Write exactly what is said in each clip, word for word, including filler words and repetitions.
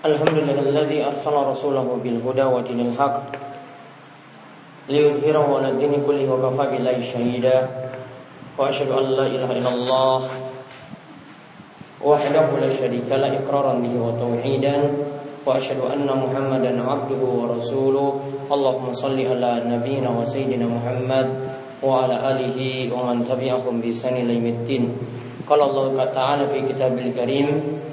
Alhamdulillahilladzi arsala rasulahu bil huda wa dinil haq liyudhhirahu 'ala dini kullihi wa kafa billahi shahida. Wa asyhadu an la ilaha illallah wahdahu la syarika la iqraran bihi wa tauhidan. Wa asyhadu anna Muhammadan 'abduhu wa rasuluh. Allahumma shalli 'ala nabiyyina wa sayyidina Muhammad wa 'ala alihi wa man tabi'ahum bi ihsan ila yaumiddin. Qala Allah ta'ala fi kitabil karim,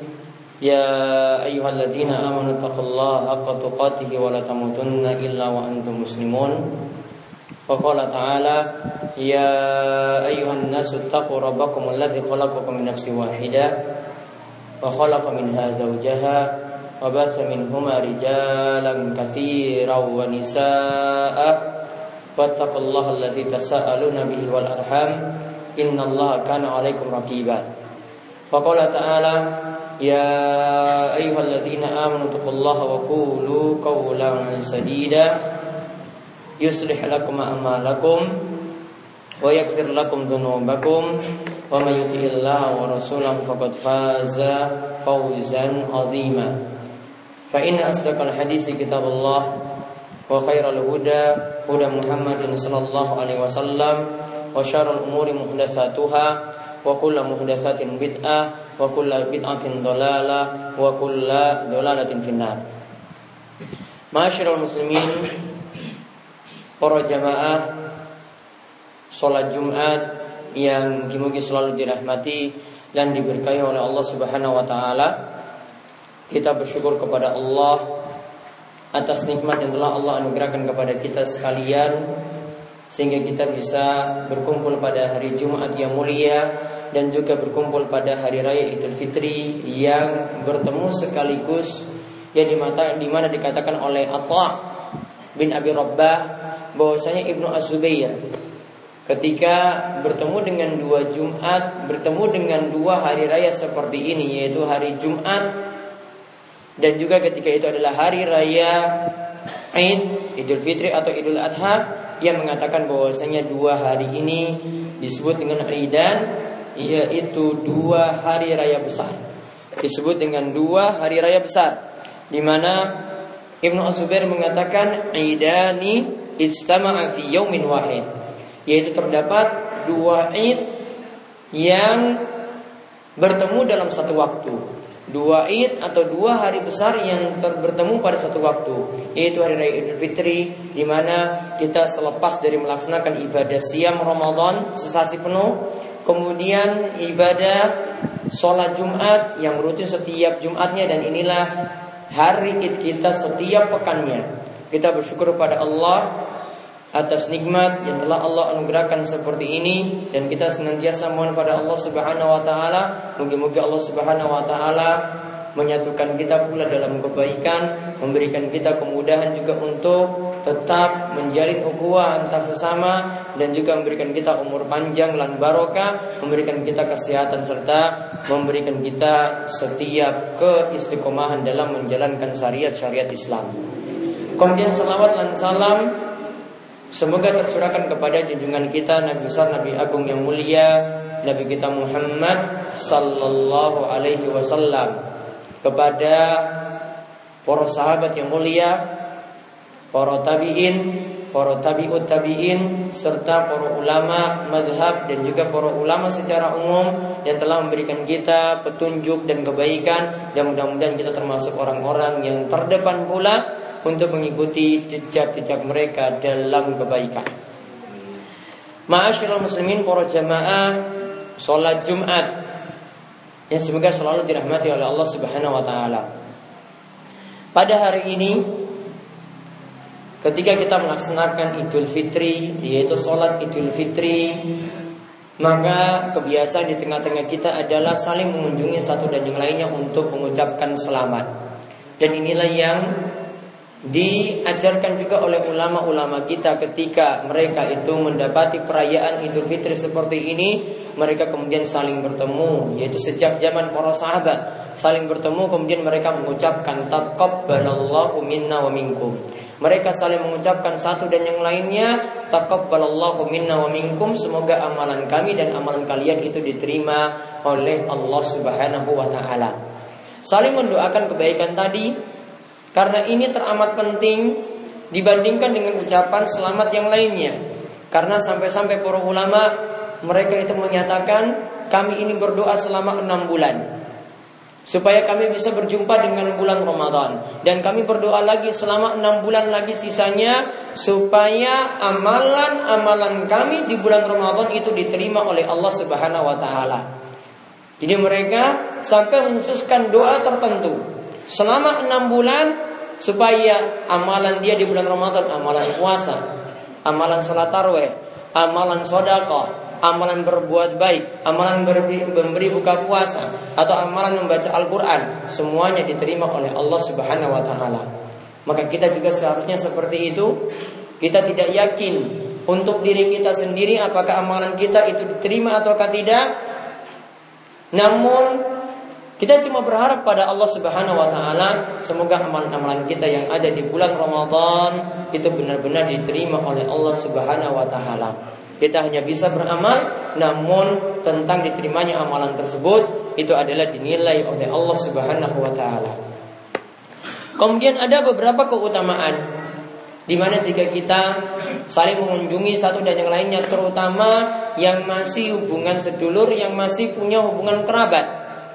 ya ayyuhalladzina amanu taqullaha haqqa tuqatih wa la tamutunna illa wa antum muslimun. Wa qala ta'ala, ya ayyuhan nasu taqu rabbakum alladzi khalaqakum min nafsin wahidah wa khalaqa minha zawjaha wa batha minhuma rijalan katsiran wa nisaa'a wattaqullaha alladzi tasaaluna bihi wal arham innallaha kana 'alaikum raqiba. Wa qala ta'ala, ya ayyuhalladzina amanu taqullaha wa qulu qawlan sadida yuslih lakum a'malakum wa yaghfir lakum dhunubakum wa may yuti'illaha wa rasulahu faqad faza fawzan 'azima. Fa inna asdaqal haditsi kitabullah wa khairal huda huda Muhammadin sallallahu alaihi wasallam wa syarrul umuri muhdatsatuha wa kullu muhdatsatin bid'ah wa kullu bid'atin dhalalah wa kullu dhalalatin finnar. Ma'asyiral muslimin, para jamaah salat Jumat yang mugi selalu dirahmati dan diberkahi oleh Allah Subhanahu wa taala. Kita bersyukur kepada Allah atas nikmat yang telah Allah anugerahkan kepada kita sekalian, sehingga kita bisa berkumpul pada hari Jumat yang mulia dan juga berkumpul pada hari raya Idul Fitri yang bertemu sekaligus, yang dimata, dimana dikatakan oleh Atha bin Abi Rabbah bahwasanya Ibnu Az-Zubair ketika bertemu dengan dua Jumat, bertemu dengan dua hari raya seperti ini, yaitu hari Jumat dan juga ketika itu adalah hari raya Id, Idul Fitri atau Idul Adha, yang mengatakan bahwasanya dua hari ini disebut dengan Idan, yaitu dua hari raya besar. Disebut dengan dua hari raya besar, di mana Ibnu Az-Zubair mengatakan Idani ijtama'a fi yaumin wahid, yaitu terdapat dua Id yang bertemu dalam satu waktu. Dua Id atau dua hari besar yang ter- bertemu pada satu waktu, yaitu hari raya Idul Fitri, di mana kita selepas dari melaksanakan ibadah siam Ramadan sesasi penuh, kemudian ibadah sholat Jumat yang rutin setiap Jumatnya, dan inilah hari Id kita setiap pekannya. Kita bersyukur kepada Allah atas nikmat yang telah Allah anugerahkan seperti ini, dan kita senantiasa mohon pada Allah Subhanahu wa taala, moga-moga Allah Subhanahu wa taala menyatukan kita pula dalam kebaikan, memberikan kita kemudahan juga untuk tetap menjalin ukhuwah antar sesama, dan juga memberikan kita umur panjang dan barokah, memberikan kita kesehatan, serta memberikan kita setiap keistiqomahan dalam menjalankan syariat-syariat Islam. Kemudian salawat dan salam semoga tercurahkan kepada junjungan kita Nabi besar, Nabi agung yang mulia, Nabi kita Muhammad sallallahu alaihi wasallam, kepada para sahabat yang mulia, para tabi'in, para tabi'ut tabi'in, serta para ulama mazhab dan juga para ulama secara umum yang telah memberikan kita petunjuk dan kebaikan, dan mudah-mudahan kita termasuk orang-orang yang terdepan pula untuk mengikuti jejak-jejak mereka dalam kebaikan. Ma'asyiral muslimin, para jamaah salat Jumat yang semoga selalu dirahmati oleh Allah Subhanahu wa taala. Pada hari ini ketika kita melaksanakan Idul Fitri, yaitu salat Idul Fitri, maka kebiasaan di tengah-tengah kita adalah saling mengunjungi satu dan yang lainnya untuk mengucapkan selamat. Dan inilah yang diajarkan juga oleh ulama-ulama kita ketika mereka itu mendapati perayaan Idul Fitri seperti ini, mereka kemudian saling bertemu, yaitu sejak zaman para sahabat saling bertemu, kemudian mereka mengucapkan taqabbalallahu minna wa minkum. Mereka saling mengucapkan satu dan yang lainnya, taqabbalallahu minna wa minkum, semoga amalan kami dan amalan kalian itu diterima oleh Allah Subhanahu wa taala. saling mendoakan kebaikan tadi, karena ini teramat penting dibandingkan dengan ucapan selamat yang lainnya. Karena sampai-sampai para ulama mereka itu menyatakan, kami ini berdoa selama enam bulan supaya kami bisa berjumpa dengan bulan Ramadan, dan kami berdoa lagi selama enam bulan lagi sisanya supaya amalan-amalan kami di bulan Ramadan itu diterima oleh Allah Subhanahu wa taala. Jadi mereka sampai mengkhususkan doa tertentu selama enam bulan supaya amalan dia di bulan Ramadan, amalan puasa, amalan salat tarawih, amalan sedekah, amalan berbuat baik, amalan memberi, memberi buka puasa, atau amalan membaca Al-Quran, semuanya diterima oleh Allah Subhanahu wa taala. Maka kita juga seharusnya seperti itu. Kita tidak yakin untuk diri kita sendiri apakah amalan kita itu diterima ataukah tidak. Namun kita cuma berharap pada Allah Subhanahu wa taala, semoga amalan-amalan kita yang ada di bulan Ramadan itu benar-benar diterima oleh Allah Subhanahu wa taala. Kita hanya bisa beramal, namun tentang diterimanya amalan tersebut itu adalah dinilai oleh Allah Subhanahu wa taala. Kemudian ada beberapa keutamaan di mana jika kita saling mengunjungi satu dan yang lainnya, terutama yang masih hubungan sedulur, yang masih punya hubungan kerabat.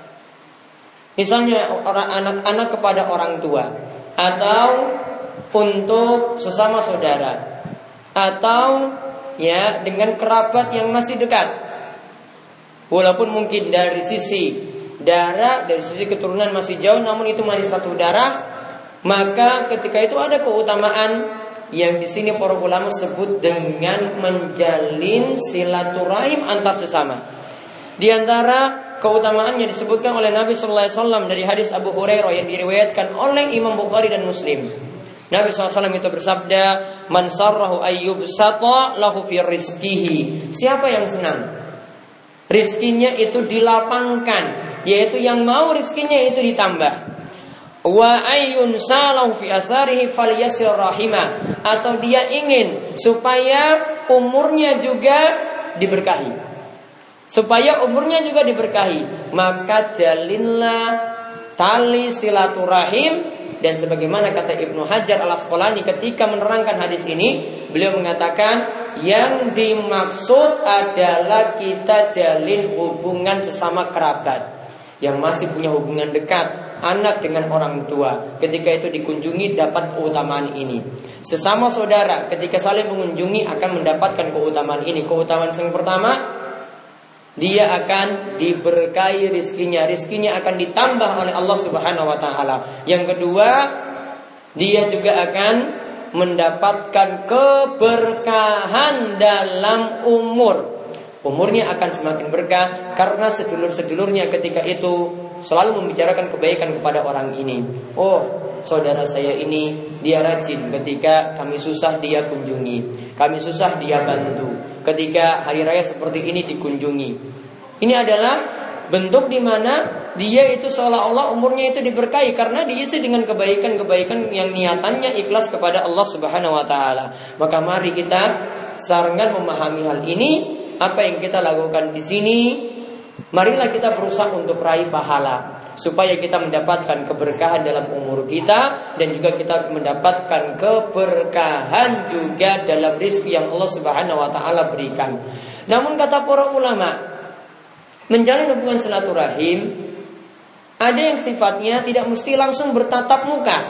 Misalnya orang anak-anak kepada orang tua, atau untuk sesama saudara, atau ya dengan kerabat yang masih dekat, walaupun mungkin dari sisi darah, dari sisi keturunan masih jauh, namun itu masih satu darah. Maka ketika itu ada keutamaan yang di sini para ulama sebut dengan menjalin silaturahim antar sesama. Di antara keutamaannya disebutkan oleh Nabi Sallallahu Alaihi Wasallam dari hadis Abu Hurairah yang diriwayatkan oleh Imam Bukhari dan Muslim. Nabi shallallahu alaihi wasallam itu bersabda, "Man sarrahu ayyub sata lahu fi rizqihi." Siapa yang senang rizkinya itu dilapangkan, yaitu yang mau rizkinya itu ditambah. Wa ayyun salahu fi asarihi falyasir rahimah. Atau dia ingin supaya umurnya juga diberkahi, supaya umurnya juga diberkahi, maka jalinlah tali silaturahim. Dan sebagaimana kata Ibnu Hajar Al-Asqalani ketika menerangkan hadis ini, beliau mengatakan yang dimaksud adalah kita jalin hubungan sesama kerabat yang masih punya hubungan dekat, anak dengan orang tua. Ketika itu dikunjungi dapat keutamaan ini. Sesama saudara ketika saling mengunjungi akan mendapatkan keutamaan ini. Keutamaan yang pertama, dia akan diberkahi rizkinya, rizkinya akan ditambah oleh Allah Subhanahu wa taala. Yang kedua, dia juga akan mendapatkan keberkahan dalam umur. Umurnya akan semakin berkah karena sedulur-sedulurnya ketika itu selalu membicarakan kebaikan kepada orang ini. Oh, saudara saya ini dia rajin, ketika kami susah dia kunjungi, kami susah dia bantu, ketika hari raya seperti ini dikunjungi. Ini adalah bentuk di mana dia itu seolah-olah umurnya itu diberkahi karena diisi dengan kebaikan-kebaikan yang niatannya ikhlas kepada Allah Subhanahu wa taala. Maka mari kita sarankan memahami hal ini. Apa yang kita lakukan di sini, marilah kita berusaha untuk raih pahala supaya kita mendapatkan keberkahan dalam umur kita dan juga kita mendapatkan keberkahan juga dalam rezeki yang Allah Subhanahu wa taala berikan. Namun kata para ulama, menjalin hubungan silaturahim ada yang sifatnya tidak mesti langsung bertatap muka.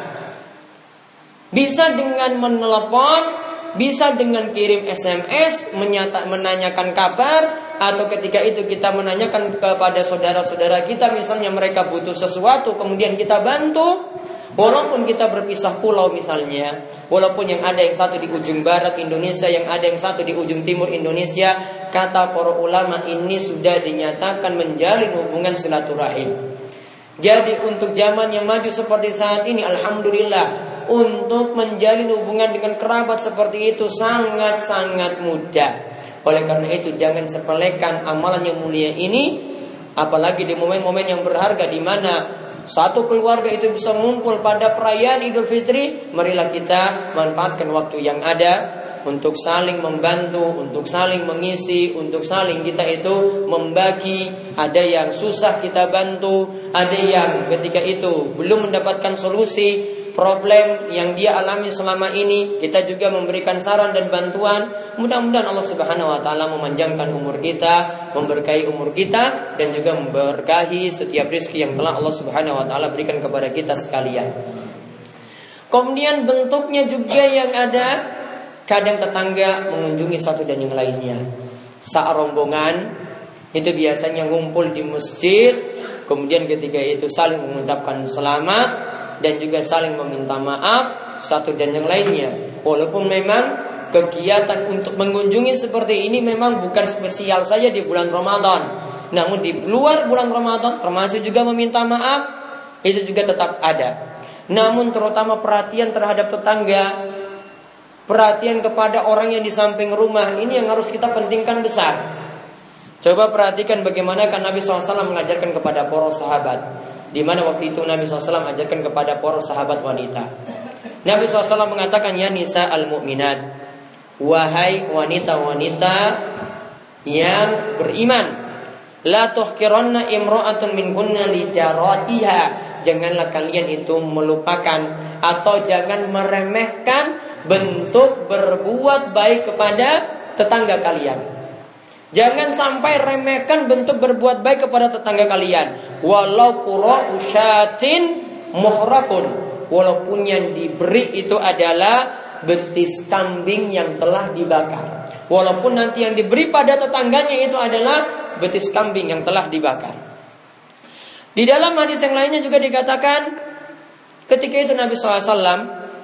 Bisa dengan menelepon, bisa dengan kirim S M S menyata, menanyakan kabar, atau ketika itu kita menanyakan kepada saudara-saudara kita, misalnya mereka butuh sesuatu kemudian kita bantu. Walaupun kita berpisah pulau misalnya, walaupun yang ada yang satu di ujung barat Indonesia, yang ada yang satu di ujung timur Indonesia, kata para ulama ini sudah dinyatakan menjalin hubungan silaturahim. Jadi untuk zaman yang maju seperti saat ini, alhamdulillah, untuk menjalin hubungan dengan kerabat seperti itu sangat-sangat mudah. Oleh karena itu jangan sepelekan amalan yang mulia ini, apalagi di momen-momen yang berharga di mana satu keluarga itu bisa mengumpul pada perayaan Idul Fitri. Marilah kita manfaatkan waktu yang ada untuk saling membantu, untuk saling mengisi, untuk saling kita itu membagi. Ada yang susah kita bantu, ada yang ketika itu belum mendapatkan solusi problem yang dia alami selama ini, kita juga memberikan saran dan bantuan. Mudah-mudahan Allah Subhanahu wa taala memanjangkan umur kita, memberkahi umur kita, dan juga memberkahi setiap rezeki yang telah Allah Subhanahu wa taala berikan kepada kita sekalian. Kemudian bentuknya juga yang ada, kadang tetangga mengunjungi satu dan yang lainnya. Saat rombongan itu biasanya ngumpul di masjid, kemudian ketika itu saling mengucapkan selamat dan juga saling meminta maaf satu dan yang lainnya. Walaupun memang kegiatan untuk mengunjungi seperti ini memang bukan spesial saja di bulan Ramadan, namun di luar bulan Ramadan termasuk juga meminta maaf, itu juga tetap ada. Namun terutama perhatian terhadap tetangga, perhatian kepada orang yang di samping rumah, ini yang harus kita pentingkan besar. Coba perhatikan bagaimana kan Nabi shallallahu alaihi wasallam mengajarkan kepada para sahabat, di mana waktu itu Nabi shallallahu alaihi wasallam mengajarkan kepada para sahabat wanita. Nabi shallallahu alaihi wasallam mengatakan, ya nisa al-mu'minat, wahai wanita-wanita yang beriman, la tuhkiranna imra'atun minkunna li jaratiha, janganlah kalian itu melupakan atau jangan meremehkan bentuk berbuat baik kepada tetangga kalian. Jangan sampai remehkan bentuk berbuat baik kepada tetangga kalian. Walau qura'u syatin muhrakun, walaupun yang diberi itu adalah betis kambing yang telah dibakar, walaupun nanti yang diberi pada tetangganya itu adalah betis kambing yang telah dibakar. Di dalam hadis yang lainnya juga dikatakan, ketika itu Nabi shallallahu alaihi wasallam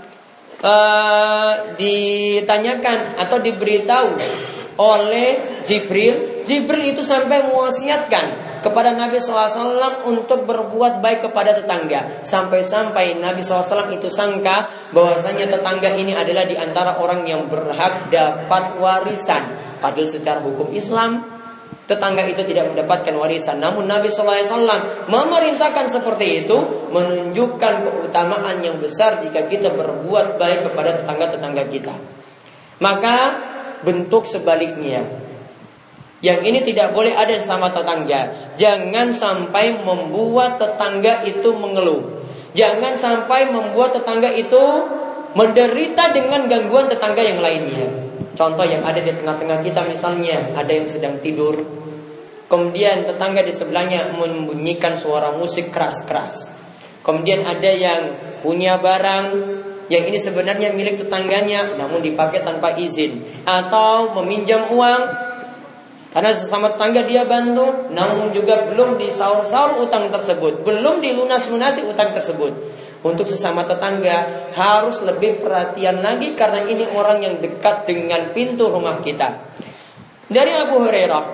uh, ditanyakan atau diberitahu oleh Jibril. Jibril itu sampai mewasiatkan kepada Nabi shallallahu alaihi wasallam untuk berbuat baik kepada tetangga. Sampai-sampai Nabi shallallahu alaihi wasallam itu sangka bahwasanya tetangga ini adalah di antara orang yang berhak dapat warisan. Padahal secara hukum Islam tetangga itu tidak mendapatkan warisan. Namun Nabi shallallahu alaihi wasallam memerintahkan seperti itu, menunjukkan keutamaan yang besar jika kita berbuat baik kepada tetangga-tetangga kita. Maka bentuk sebaliknya, yang ini tidak boleh ada sama tetangga. Jangan sampai membuat tetangga itu mengeluh. Jangan sampai membuat tetangga itu menderita dengan gangguan tetangga yang lainnya. Contoh yang ada di tengah-tengah kita, misalnya ada yang sedang tidur, kemudian tetangga di sebelahnya membunyikan suara musik keras-keras. Kemudian ada yang punya barang yang ini sebenarnya milik tetangganya, namun dipakai tanpa izin, atau meminjam uang karena sesama tetangga dia bantu, namun juga belum disaur-saur utang tersebut, belum dilunas-lunasi utang tersebut. Untuk sesama tetangga harus lebih perhatian lagi, karena ini orang yang dekat dengan pintu rumah kita. Dari Abu Hurairah,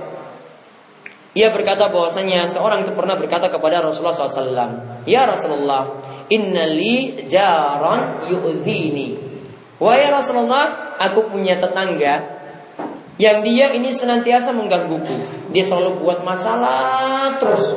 ia berkata bahwasanya seorang itu pernah berkata kepada Rasulullah shallallahu alaihi wasallam, ya Rasulullah, inna li jaran yu'zini. Wahai Rasulullah, aku punya tetangga yang dia ini senantiasa menggangguku. Dia selalu buat masalah terus.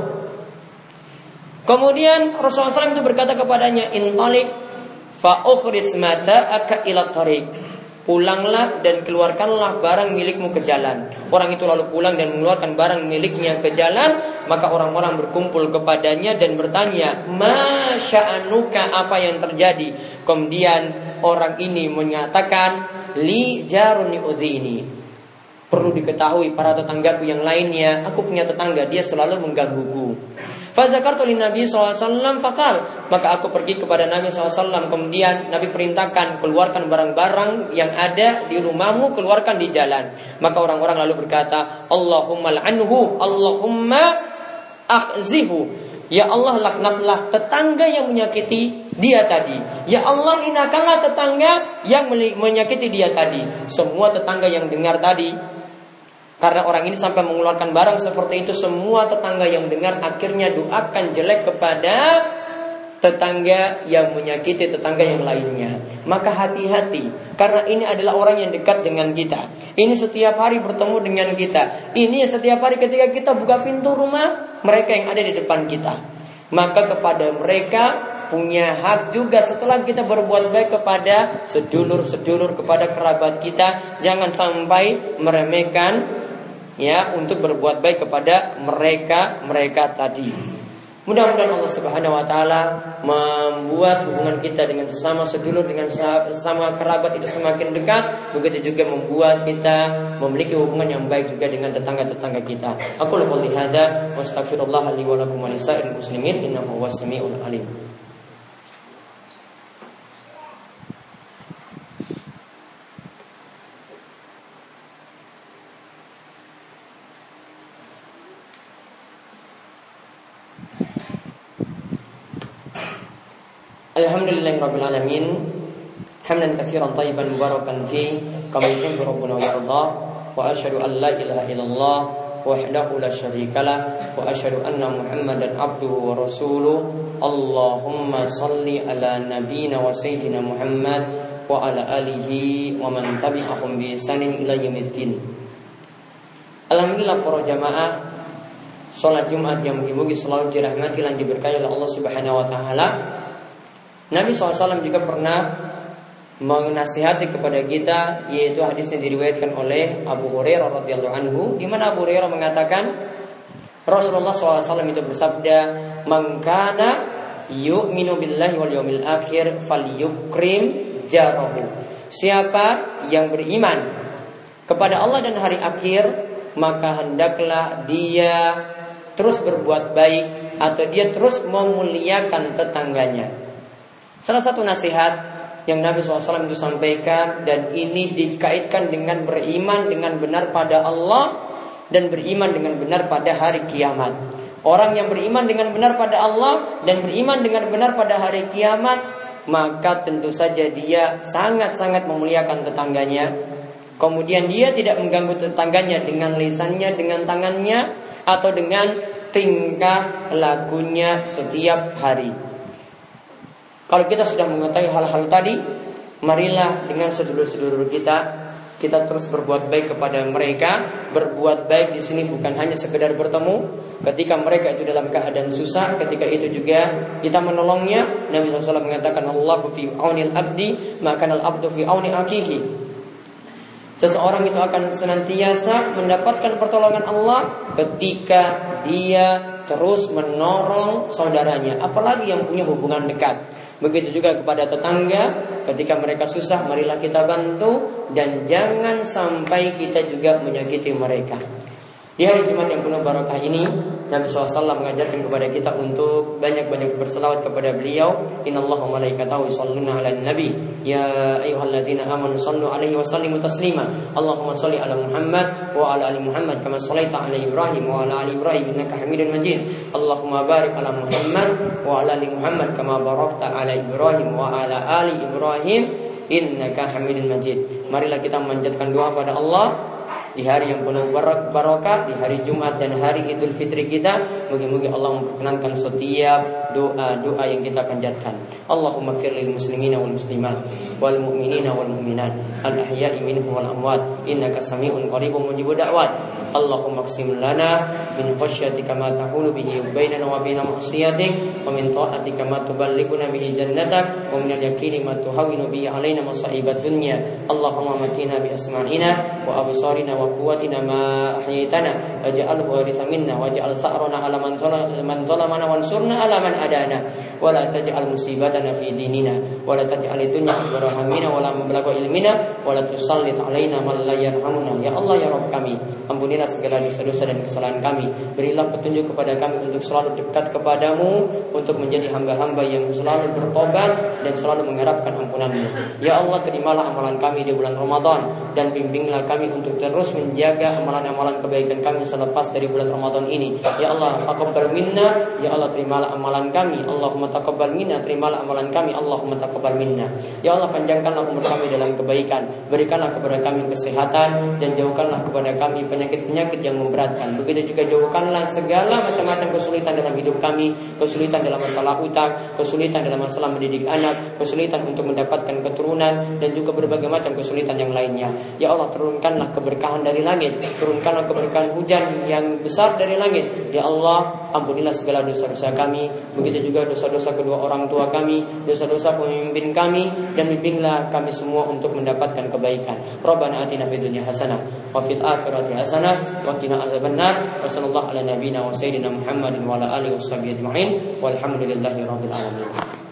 Kemudian Rasulullah shallallahu alaihi wasallam itu berkata kepadanya, intalik fa ukhrij mata'aka ila tariq. Pulanglah dan keluarkanlah barang milikmu ke jalan. Orang itu lalu pulang dan mengeluarkan barang miliknya ke jalan. Maka orang-orang berkumpul kepadanya dan bertanya, ma sya'anuka, apa yang terjadi? Kemudian orang ini menyatakan, li jarun yu'dhini. Perlu diketahui para tetanggaku yang lainnya, aku punya tetangga, dia selalu menggangguku. Fazakartu li Nabi shallallahu alaihi wasallam faqal, maka aku pergi kepada Nabi shallallahu alaihi wasallam. Kemudian Nabi perintahkan, keluarkan barang-barang yang ada di rumahmu, keluarkan di jalan. Maka orang-orang lalu berkata, Allahumma l'anhu, Allahumma akhzihu. Ya Allah, laknatlah tetangga yang menyakiti dia tadi. Ya Allah, hinakanlah tetangga yang menyakiti dia tadi. Semua tetangga yang dengar tadi, karena orang ini sampai mengeluarkan barang seperti itu, semua tetangga yang dengar akhirnya doakan jelek kepada tetangga yang menyakiti tetangga yang lainnya. Maka hati-hati, karena ini adalah orang yang dekat dengan kita. Ini setiap hari bertemu dengan kita. Ini setiap hari ketika kita buka pintu rumah, mereka yang ada di depan kita. Maka kepada mereka punya hak juga setelah kita berbuat baik kepada sedulur-sedulur, kepada kerabat kita. Jangan sampai meremehkan ya untuk berbuat baik kepada mereka-mereka tadi. Mudah-mudahan Allah Subhanahu wa taala membuat hubungan kita dengan sesama sedulur, dengan sesama kerabat itu semakin dekat. Begitu juga membuat kita memiliki hubungan yang baik juga dengan tetangga-tetangga kita. Aku qouli hadza wa astaghfirullah li wa lakum wa lisa'il muslimin innahu huwas samiul alim. Alhamdulillahirabbil alamin hamdan katsiran thayyiban mubarakan fi kama yuhibbu rabbuna wa yarda wa asyhadu an la ilaha illallah wahdahu la syarikalah wa asyhadu anna Muhammadan abduhu wa rasuluh. Allahumma shalli ala nabiyyina wa sayyidina Muhammad wa ala alihi wa man tabi'ahum bi ihsanin ila yaumiddin. Alhamdulillah para jamaah, salat Jumat yang mugi-mugi selalu dirahmati dan diberkahi oleh Allah Subhanahu wa taala. Nabi shallallahu alaihi wasallam juga pernah menasihati kepada kita, yaitu hadisnya diriwayatkan oleh Abu Hurairah radhiyallahu anhu, di mana Abu Hurairah mengatakan Rasulullah shallallahu alaihi wasallam itu bersabda, "Man kana yu'minu billahi wal yawmil akhir falyukrim jarahu." Siapa yang beriman kepada Allah dan hari akhir, maka hendaklah dia terus berbuat baik atau dia terus memuliakan tetangganya. Salah satu nasihat yang Nabi shallallahu alaihi wasallam itu sampaikan, dan ini dikaitkan dengan beriman dengan benar pada Allah dan beriman dengan benar pada hari kiamat. Orang yang beriman dengan benar pada Allah dan beriman dengan benar pada hari kiamat, maka tentu saja dia sangat-sangat memuliakan tetangganya. Kemudian dia tidak mengganggu tetangganya dengan lisannya, dengan tangannya, atau dengan tingkah lakunya setiap hari. Kalau kita sudah mengetahui hal-hal tadi, marilah dengan sedulur-sedulur kita, kita terus berbuat baik kepada mereka. Berbuat baik di sini bukan hanya sekedar bertemu. Ketika mereka itu dalam keadaan susah, ketika itu juga kita menolongnya. Nabi shallallahu alaihi wasallam mengatakan, Allahu fi aunil abdi, maka al abdu fi auni akihi. Seseorang itu akan senantiasa mendapatkan pertolongan Allah ketika dia terus menolong saudaranya, apalagi yang punya hubungan dekat. Begitu juga kepada tetangga, ketika mereka susah, marilah kita bantu, dan jangan sampai kita juga menyakiti mereka. Di hari Jumat yang penuh barakah ini, Nabi shallallahu alaihi wasallam mengajarkan kepada kita untuk banyak-banyak berselawat kepada beliau. Innallaha wa malaikatahu yusholluna 'alan nabi ya ayyuhalladzina amanu shallu 'alaihi wa sallimu taslima. Allahumma shalli 'ala Muhammad wa 'ala ali Muhammad kama shallaita 'ala Ibrahim wa 'ala ali Ibrahim innaka Hamidum Majid. Allahumma barik 'ala Muhammad wa 'ala ali Muhammad kama barakta 'ala Ibrahim wa 'ala ali Ibrahim innaka Hamidum Majid. Marilah kita memanjatkan doa pada Allah di hari yang penuh barakah, di hari Jumat dan hari Idul Fitri kita. Mugi-mugi Allah memperkenankan setiap doa-doa yang kita panjatkan. Allahumma ighfir lil muslimina wal muslimat wal mu'minina wal mu'minat al ahya'i minhum wal amwat innaka sami'un qaribun mujibud da'wat. Allahumma qsim lana min khasyatika ma tahulu bihi bainana wa baina ma'siyatik, wa min ta'atika ma tuballighuna bihi jannatak, wa min al-yaqini ma tuhawwinu bihi alaina masaibat dunya. Allahumma matina bi asma'ina wa absarina wa quwwatina ma ahyaytana waj'alhu waritha minna waj'al sa'rana 'ala man zalamana wansurna 'ala man adana wa la taj'al musibatana fi dinina wa la taj'al dunya akbar hammina wa la mablagha ilmina wa la tusallit 'alaina man la yarhamuna. Ya Allah, ya Rabb kami, ampunilah segala dosa-dosa dan kesalahan kami. Berilah petunjuk kepada kami untuk selalu dekat kepadamu, untuk menjadi hamba-hamba yang selalu bertobat dan selalu mengharapkan ampunan-Mu. Ya Allah, terimalah amalan kami di bulan Ramadan, dan bimbinglah kami untuk terus menjaga amalan-amalan kebaikan kami selepas dari bulan Ramadan ini. Ya Allah, taqabbal minna, ya Allah terimalah amalan kami. Allahumma taqabbal minna, terimalah amalan kami. Allahumma taqabbal minna. Ya Allah, panjangkanlah umur kami dalam kebaikan. Berikanlah kepada kami kesehatan, dan jauhkanlah kepada kami penyakit-penyakit yang memberatkan. Begitu juga jauhkanlah segala macam-macam kesulitan dalam hidup kami, kesulitan dalam masalah utang, kesulitan dalam masalah mendidik anak, kesulitan untuk mendapatkan keturunan, dan juga berbagai macam kesulitan yang lainnya. Ya Allah, turunkanlah keberkahan dari langit, turunkanlah keberkahan hujan yang besar dari langit. Ya Allah, ampunilah segala dosa-dosa kami. begitu juga dosa-dosa kedua orang tua kami, dosa-dosa pemimpin kami, dan bimbinglah kami semua untuk mendapatkan kebaikan. Rabbana atina fid dunya hasanah wa fil akhirati hasanah wa qina adzabannar. Wa sallallahu ala nabiyyina wa sayyidina Muhammadin wa ala alihi washabbihi ajma'in. Walhamdulillahi rabbil alamin.